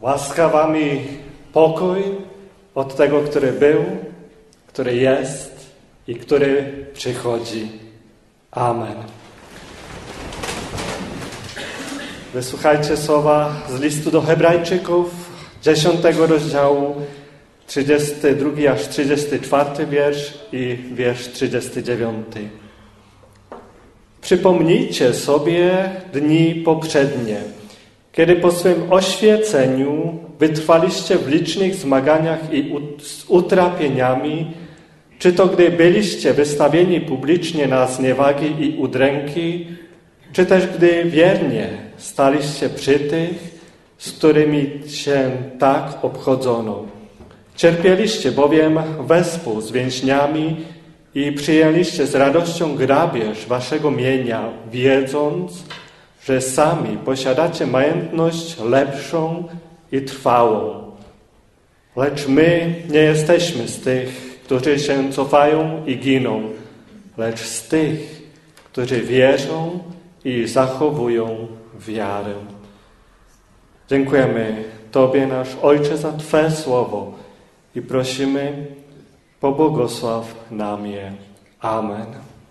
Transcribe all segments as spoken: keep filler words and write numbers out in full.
Łaska wam i pokój od tego, który był, który jest i który przychodzi. Amen. Wysłuchajcie słowa z listu do Hebrajczyków, dziesiątego rozdziału, trzydziesty drugi aż trzydziesty czwarty wiersz i wiersz trzydziesty dziewiąty. Przypomnijcie sobie dni poprzednie, kiedy po swym oświeceniu wytrwaliście w licznych zmaganiach i z utrapieniami, czy to gdy byliście wystawieni publicznie na zniewagi i udręki, czy też gdy wiernie staliście przy tych, z którymi się tak obchodzono. Cierpieliście bowiem wespół z więźniami i przyjęliście z radością grabież waszego mienia, wiedząc, że sami posiadacie majątność lepszą i trwałą. Lecz my nie jesteśmy z tych, którzy się cofają i giną, lecz z tych, którzy wierzą i zachowują wiarę. Dziękujemy Tobie, nasz Ojcze, za Twe słowo i prosimy, pobłogosław nam je. Amen.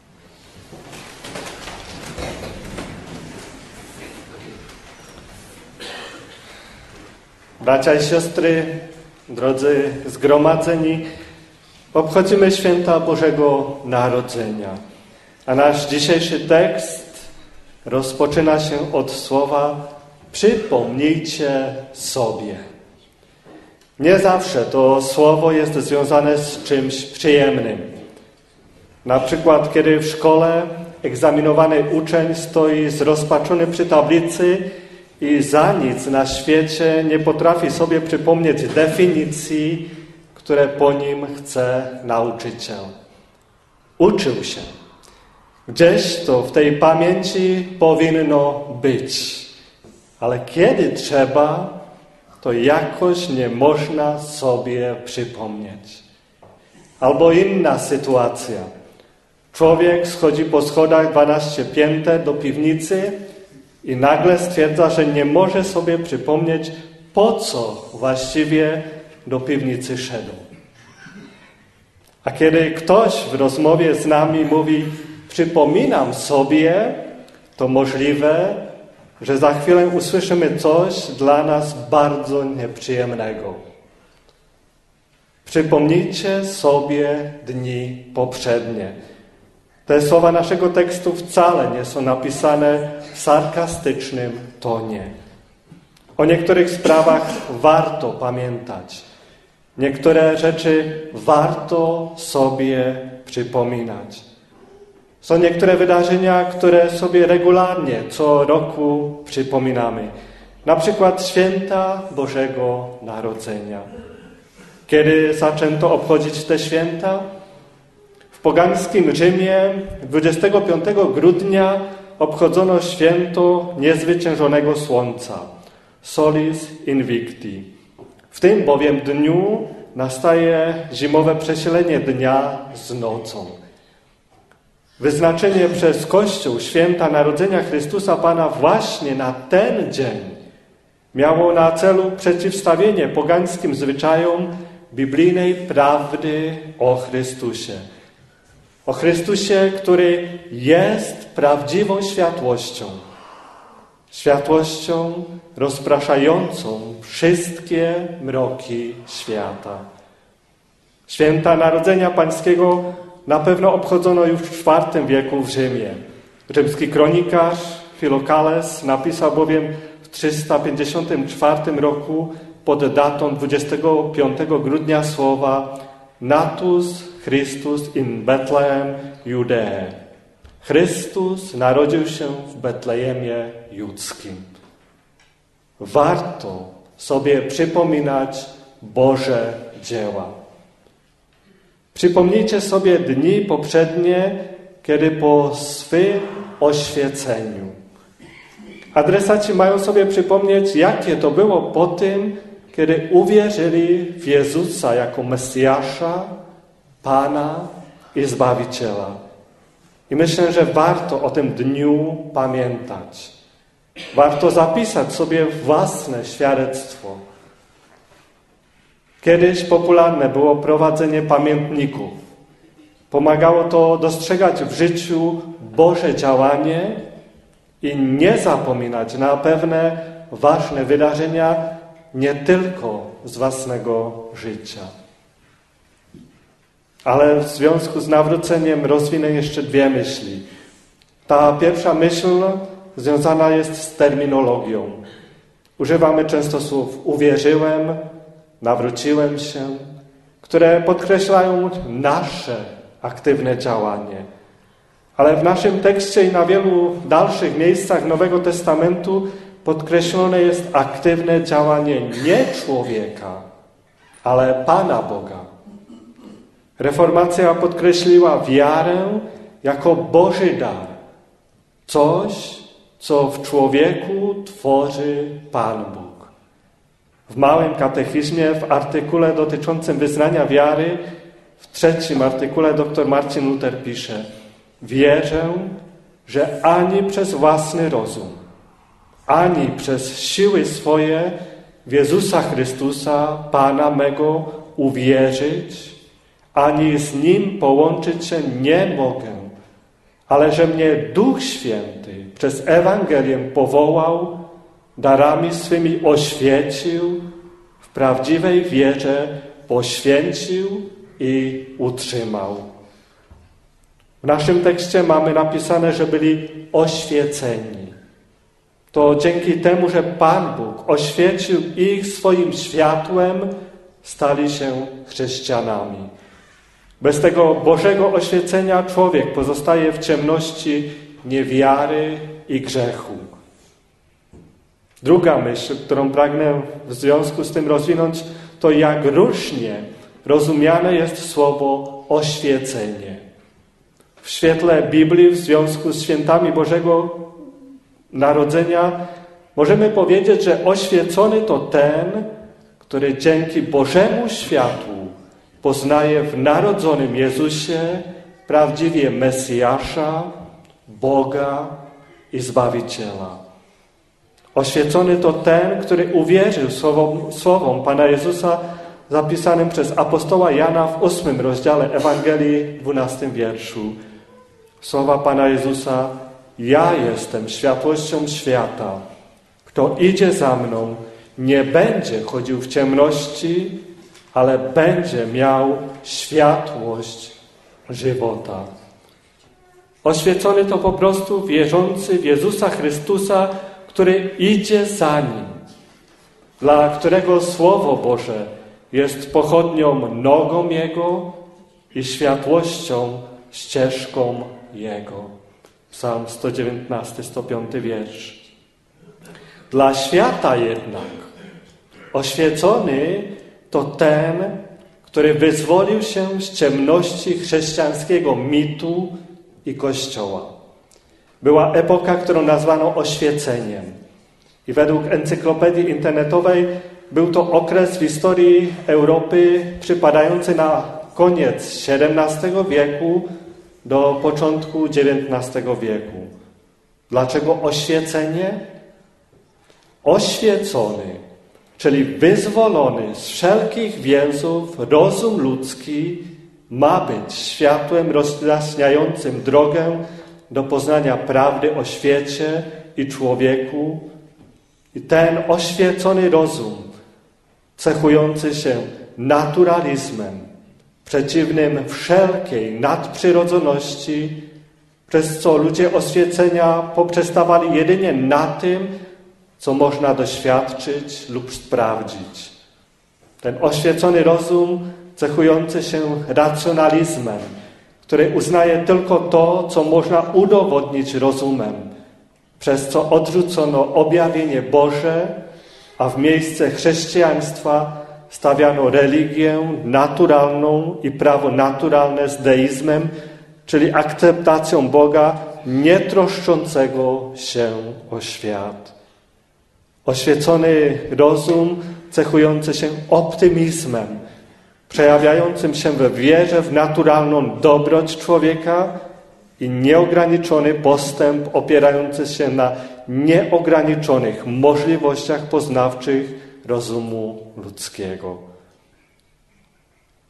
Bracia i siostry, drodzy zgromadzeni, obchodzimy święta Bożego Narodzenia. A nasz dzisiejszy tekst rozpoczyna się od słowa przypomnijcie sobie. Nie zawsze to słowo jest związane z czymś przyjemnym. Na przykład, kiedy w szkole egzaminowany uczeń stoi zrozpaczony przy tablicy i za nic na świecie nie potrafi sobie przypomnieć definicji, które po nim chce nauczyciel. Uczył się. Gdzieś to w tej pamięci powinno być. Ale kiedy trzeba, to jakoś nie można sobie przypomnieć. Albo inna sytuacja. Człowiek schodzi po schodach dwanaście pięter do piwnicy i nagle stwierdza, że nie może sobie przypomnieć, po co właściwie do piwnicy szedł. A kiedy ktoś w rozmowie z nami mówi, przypominam sobie, to możliwe, że za chwilę usłyszymy coś dla nas bardzo nieprzyjemnego. Przypomnijcie sobie dni poprzednie. Te słowa naszego tekstu wcale nie są napisane w sarkastycznym tonie. O niektórych sprawach warto pamiętać. Niektóre rzeczy warto sobie przypominać. Są niektóre wydarzenia, które sobie regularnie co roku przypominamy. Na przykład święta Bożego Narodzenia. Kiedy zaczęto obchodzić te święta? W pogańskim Rzymie dwudziestego piątego grudnia obchodzono święto niezwyciężonego słońca, Solis Invicti. W tym bowiem dniu nastaje zimowe przesilenie dnia z nocą. Wyznaczenie przez Kościół święta Narodzenia Chrystusa Pana właśnie na ten dzień miało na celu przeciwstawienie pogańskim zwyczajom biblijnej prawdy o Chrystusie. O Chrystusie, który jest prawdziwą światłością. Światłością rozpraszającą wszystkie mroki świata. Święta Narodzenia Pańskiego na pewno obchodzono już w czwartym wieku w Rzymie. Rzymski kronikarz Filokales napisał bowiem w trzysta pięćdziesiątym czwartym roku pod datą dwudziestego piątego grudnia słowa Natus Christus in Bethlehem Judee. Chrystus narodził się w Betlejemie Judzkim. Warto sobie przypominać Boże dzieła. Przypomnijcie sobie dni poprzednie, kiedy po swym oświeceniu. Adresaci mają sobie przypomnieć, jakie to było po tym, kiedy uwierzyli w Jezusa jako Mesjasza, Pana i Zbawiciela. I myślę, że warto o tym dniu pamiętać. Warto zapisać sobie własne świadectwo. Kiedyś popularne było prowadzenie pamiętników. Pomagało to dostrzegać w życiu Boże działanie i nie zapominać na pewne ważne wydarzenia nie tylko z własnego życia. Ale w związku z nawróceniem rozwinę jeszcze dwie myśli. Ta pierwsza myśl związana jest z terminologią. Używamy często słów uwierzyłem, nawróciłem się, które podkreślają nasze aktywne działanie. Ale w naszym tekście i na wielu dalszych miejscach Nowego Testamentu podkreślone jest aktywne działanie nie człowieka, ale Pana Boga. Reformacja podkreśliła wiarę jako Boży dar. Coś, co w człowieku tworzy Pan Bóg. W małym katechizmie, w artykule dotyczącym wyznania wiary, w trzecim artykule dr Marcin Luther pisze: wierzę, że ani przez własny rozum, ani przez siły swoje w Jezusa Chrystusa, Pana mego, uwierzyć, ani z Nim połączyć się nie mogę, ale że mnie Duch Święty przez Ewangelię powołał, darami swymi oświecił, w prawdziwej wierze poświęcił i utrzymał. W naszym tekście mamy napisane, że byli oświeceni. To dzięki temu, że Pan Bóg oświecił ich swoim światłem, stali się chrześcijanami. Bez tego Bożego oświecenia człowiek pozostaje w ciemności niewiary i grzechu. Druga myśl, którą pragnę w związku z tym rozwinąć, to jak różnie rozumiane jest słowo oświecenie. W świetle Biblii, w związku z świętami Bożego Narodzenia, możemy powiedzieć, że oświecony to ten, który dzięki Bożemu światłu poznaje w narodzonym Jezusie prawdziwie Mesjasza, Boga i Zbawiciela. Oświecony to ten, który uwierzył słowom, słowom Pana Jezusa zapisanym przez apostoła Jana w ósmym rozdziale Ewangelii, dwunastym wierszu. Słowa Pana Jezusa: ja jestem światłością świata. Kto idzie za mną, nie będzie chodził w ciemności, ale będzie miał światłość żywota. Oświecony to po prostu wierzący w Jezusa Chrystusa, który idzie za Nim, dla którego Słowo Boże jest pochodnią nogą Jego i światłością ścieżką Jego. Psalm sto dziewiętnasty, sto piąty wiersz. Dla świata jednak oświecony to ten, który wyzwolił się z ciemności chrześcijańskiego mitu i Kościoła. Była epoka, którą nazwano oświeceniem. I według encyklopedii internetowej był to okres w historii Europy przypadający na koniec siedemnastego wieku do początku dziewiętnastego wieku. Dlaczego oświecenie? Oświecony, czyli wyzwolony z wszelkich więzów rozum ludzki ma być światłem rozjaśniającym drogę do poznania prawdy o świecie i człowieku. I ten oświecony rozum, cechujący się naturalizmem, przeciwnym wszelkiej nadprzyrodzoności, przez co ludzie oświecenia poprzestawali jedynie na tym, co można doświadczyć lub sprawdzić. Ten oświecony rozum cechujący się racjonalizmem, który uznaje tylko to, co można udowodnić rozumem, przez co odrzucono objawienie Boże, a w miejsce chrześcijaństwa stawiano religię naturalną i prawo naturalne z deizmem, czyli akceptacją Boga nie troszczącego się o świat. Oświecony rozum cechujący się optymizmem, przejawiającym się we wierze w naturalną dobroć człowieka i nieograniczony postęp opierający się na nieograniczonych możliwościach poznawczych rozumu ludzkiego.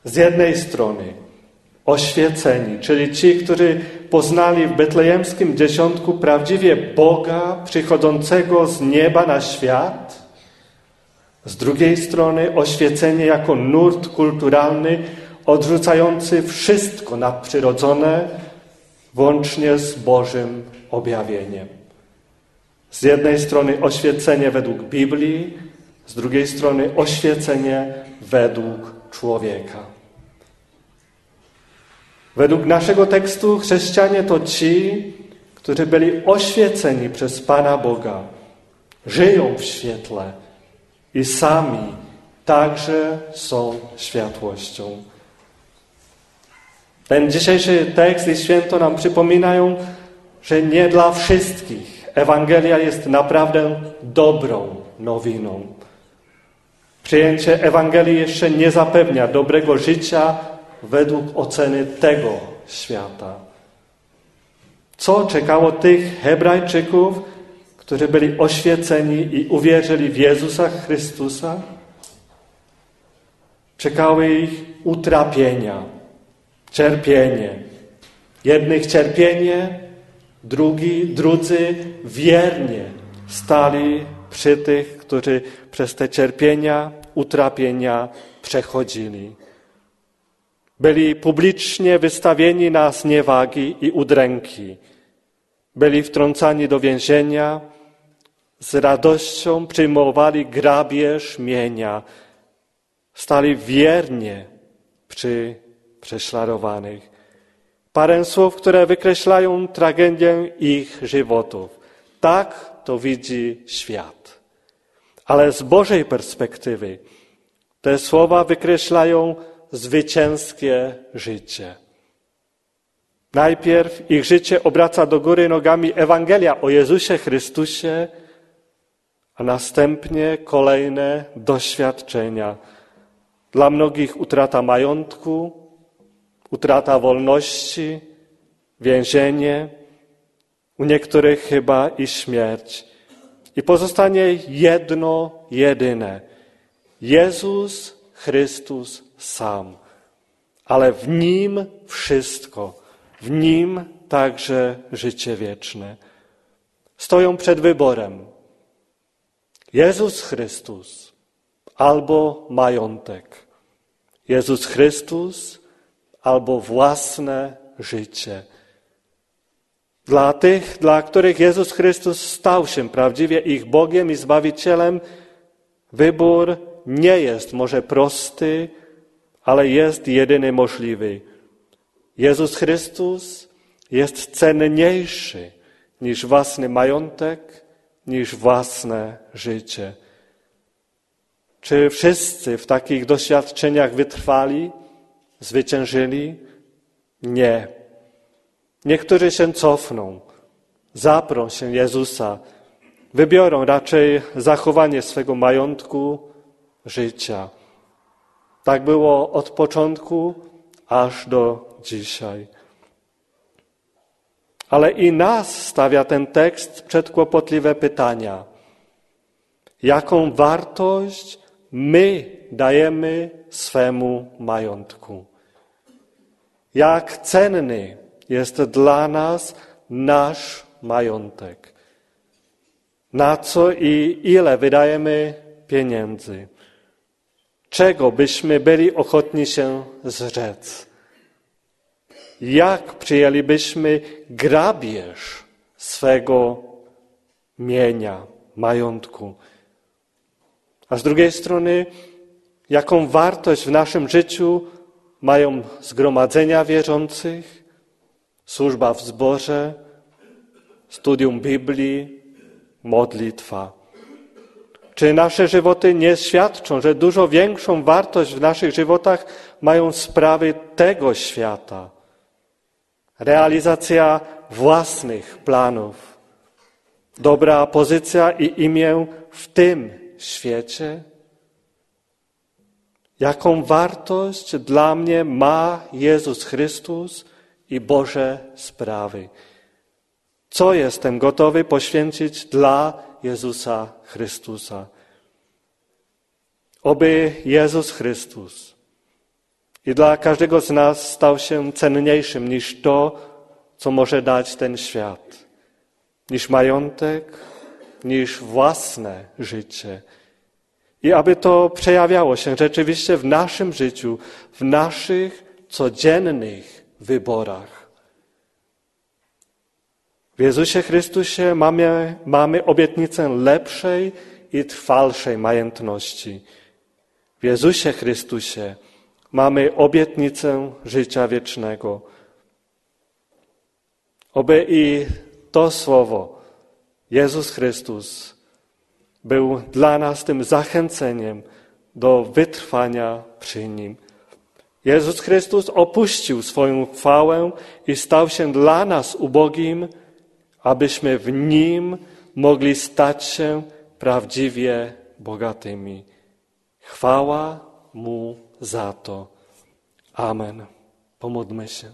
Z jednej strony oświeceni, czyli ci, którzy poznali w betlejemskim dzieciątku prawdziwie Boga przychodzącego z nieba na świat. Z drugiej strony oświecenie jako nurt kulturalny odrzucający wszystko nadprzyrodzone, włącznie z Bożym objawieniem. Z jednej strony oświecenie według Biblii, z drugiej strony oświecenie według człowieka. Według naszego tekstu chrześcijanie to ci, którzy byli oświeceni przez Pana Boga, żyją w świetle i sami także są światłością. Ten dzisiejszy tekst i święto nam przypominają, że nie dla wszystkich Ewangelia jest naprawdę dobrą nowiną. Przyjęcie Ewangelii jeszcze nie zapewnia dobrego życia według oceny tego świata. Co czekało tych Hebrajczyków, którzy byli oświeceni i uwierzyli w Jezusa Chrystusa? Czekały ich utrapienia, cierpienie. Jednych cierpienie, drugi, drudzy wiernie stali przy tych, którzy przez te cierpienia, utrapienia przechodzili. Byli publicznie wystawieni na zniewagi i udręki. Byli wtrącani do więzienia, z radością przyjmowali grabież mienia. Stali wiernie przy prześladowanych. Parę słów, które wykreślają tragedię ich żywotów. Tak to widzi świat. Ale z Bożej perspektywy te słowa wykreślają zwycięskie życie. Najpierw ich życie obraca do góry nogami Ewangelia o Jezusie Chrystusie, a następnie kolejne doświadczenia. Dla mnogich utrata majątku, utrata wolności, więzienie, u niektórych chyba i śmierć. I pozostanie jedno, jedyne. Jezus Chrystus sam. Ale w Nim wszystko. W Nim także życie wieczne. Stoją przed wyborem. Jezus Chrystus albo majątek. Jezus Chrystus albo własne życie. Dla tych, dla których Jezus Chrystus stał się prawdziwie ich Bogiem i Zbawicielem, wybór nie jest może prosty, ale jest jedyny możliwy. Jezus Chrystus jest cenniejszy niż własny majątek, niż własne życie. Czy wszyscy w takich doświadczeniach wytrwali, zwyciężyli? Nie. Niektórzy się cofną, zaprą się Jezusa, wybiorą raczej zachowanie swego majątku, życia. Tak było od początku aż do dzisiaj. Ale i nas stawia ten tekst przed kłopotliwe pytania. Jaką wartość my dajemy swemu majątku? Jak cenny jest dla nas nasz majątek? Na co i ile wydajemy pieniędzy? Czego byśmy byli ochotni się zrzec? Jak przyjęlibyśmy grabież swego mienia, majątku? A z drugiej strony, jaką wartość w naszym życiu mają zgromadzenia wierzących, służba w zborze, studium Biblii, modlitwa? Czy nasze żywoty nie świadczą, że dużo większą wartość w naszych żywotach mają sprawy tego świata? Realizacja własnych planów, dobra pozycja i imię w tym świecie? Jaką wartość dla mnie ma Jezus Chrystus i Boże sprawy? Co jestem gotowy poświęcić dla Jezusa Chrystusa? Oby Jezus Chrystus i dla każdego z nas stał się cenniejszym niż to, co może dać ten świat, niż majątek, niż własne życie. I aby to przejawiało się rzeczywiście w naszym życiu, w naszych codziennych wyborach. W Jezusie Chrystusie mamy, mamy obietnicę lepszej i trwalszej majętności. W Jezusie Chrystusie mamy obietnicę życia wiecznego. Oby i to słowo, Jezus Chrystus, był dla nas tym zachęceniem do wytrwania przy Nim. Jezus Chrystus opuścił swoją chwałę i stał się dla nas ubogim, abyśmy w Nim mogli stać się prawdziwie bogatymi. Chwała Mu za to. Amen. Pomódlmy się.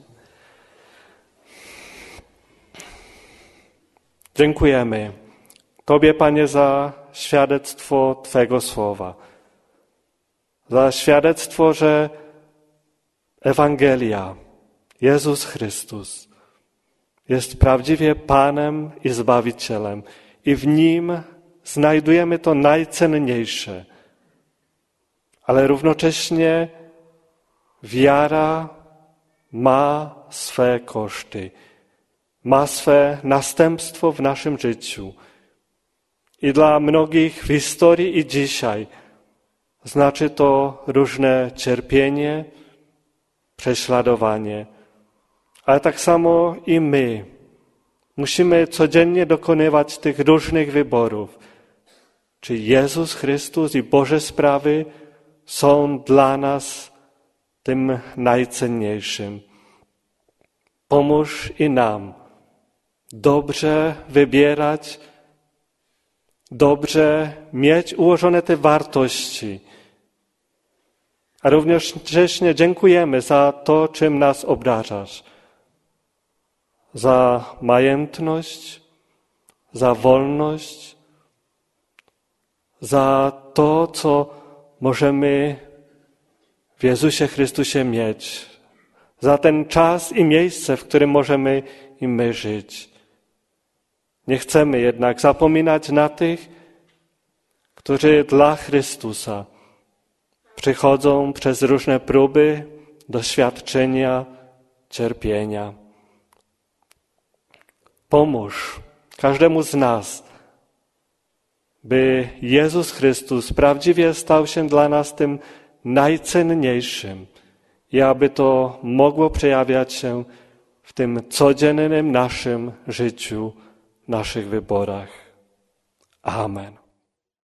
Dziękujemy Tobie, Panie, za świadectwo Twego słowa. Za świadectwo, że Ewangelia, Jezus Chrystus, jest prawdziwie Panem i Zbawicielem i w Nim znajdujemy to najcenniejsze. Ale równocześnie wiara ma swe koszty, ma swe następstwo w naszym życiu. I dla mnogich w historii i dzisiaj znaczy to różne cierpienie, prześladowanie. Ale tak samo i my musimy codziennie dokonywać tych różnych wyborów. Czy Jezus Chrystus i Boże sprawy są dla nas tym najcenniejszym. Pomóż i nam dobrze wybierać, dobrze mieć ułożone te wartości. A równocześnie dziękujemy za to, czym nas obdarzasz. Za majętność, za wolność, za to, co możemy w Jezusie Chrystusie mieć. Za ten czas i miejsce, w którym możemy i my żyć. Nie chcemy jednak zapominać na tych, którzy dla Chrystusa przychodzą przez różne próby, doświadczenia, cierpienia. Pomóż każdemu z nas, by Jezus Chrystus prawdziwie stał się dla nas tym najcenniejszym i aby to mogło przejawiać się w tym codziennym naszym życiu, naszych wyborach. Amen.